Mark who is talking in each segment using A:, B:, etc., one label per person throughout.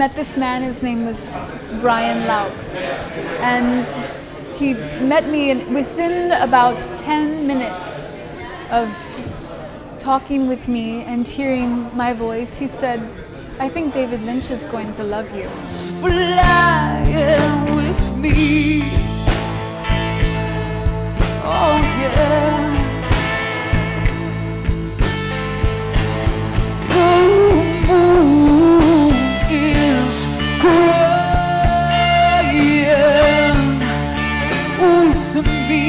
A: met this man. His name was Brian Laux, and he met me within about 10 minutes of talking with me and hearing my voice. He said, "I think David Lynch is going to love you."
B: Flying with me, oh yeah. The moon is crying with me.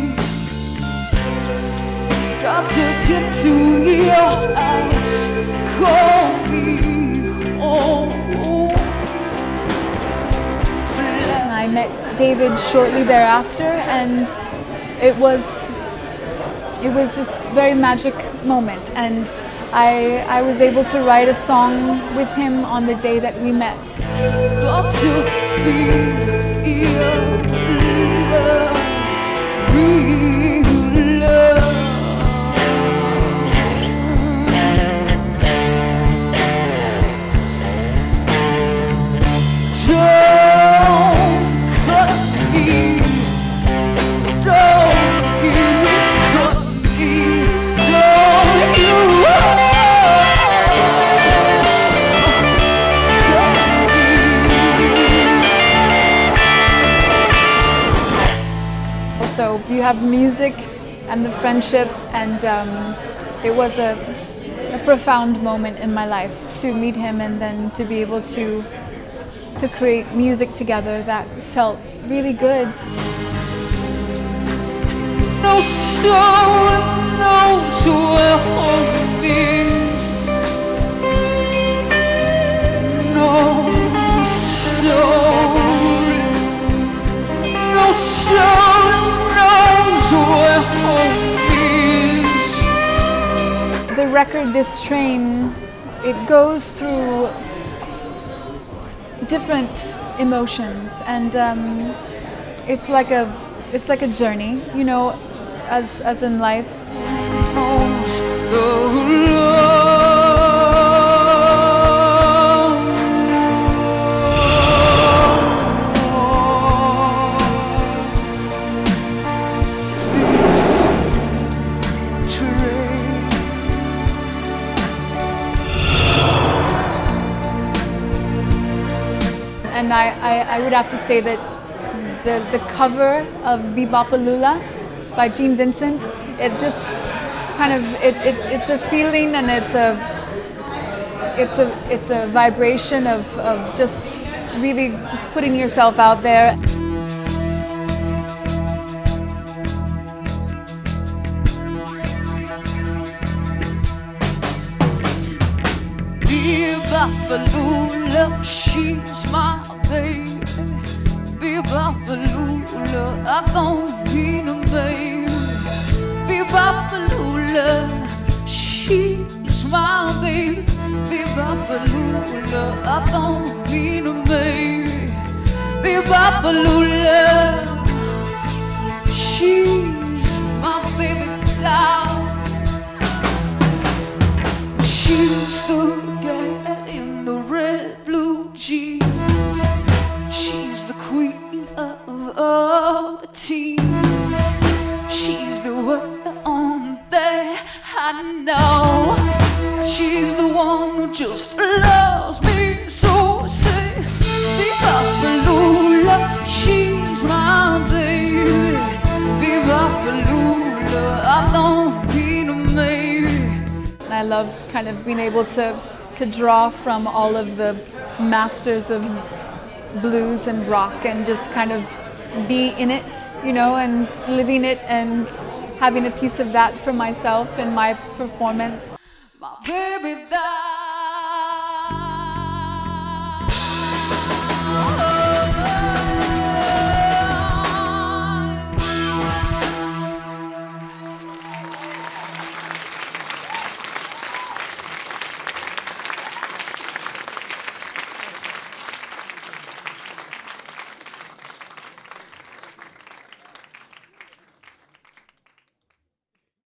B: Got to get to your house, call me home.
A: I met David shortly thereafter, and it was this very magic moment, and I was able to write a song with him on the day that we met.
B: Got to be your love, real love. Don't cut me, don't you cut me, don't you cut me.
A: Also, you have music and the friendship, and it was a profound moment in my life to meet him and then to be able to create music together that felt really good.
B: No soul knows where home is. No soul knows where home is.
A: The record, This Train, it goes through different emotions, and it's like a journey, you know, as in life.
B: Knows the love. This train.
A: And I would have to say that the cover of Be-Bop-A-Lula by Gene Vincent, it just kind of it's a feeling, and it's a vibration of just really just putting yourself out there.
B: Be-Bop-A-Lula, she's my baby. Be-Bop-A-Lula, I don't mean a baby. Be-Bop-A-Lula, she's my baby. Be-Bop-A-Lula, I don't mean a baby. Be-Bop-A-Lula, she's my baby doll. She's the gal in the red blue jeans. She's the queen of all the teens. She's the one on there I know. She's the one who just loves me so. Say, Be-Bop-A-Lula, she's my baby. Be-Bop-A-Lula, I don't mean a maybe.
A: I love kind of being able to draw from all of the masters of blues and rock and just kind of be in it, you know, and living it and having a piece of that for myself in my performance.
B: My baby, that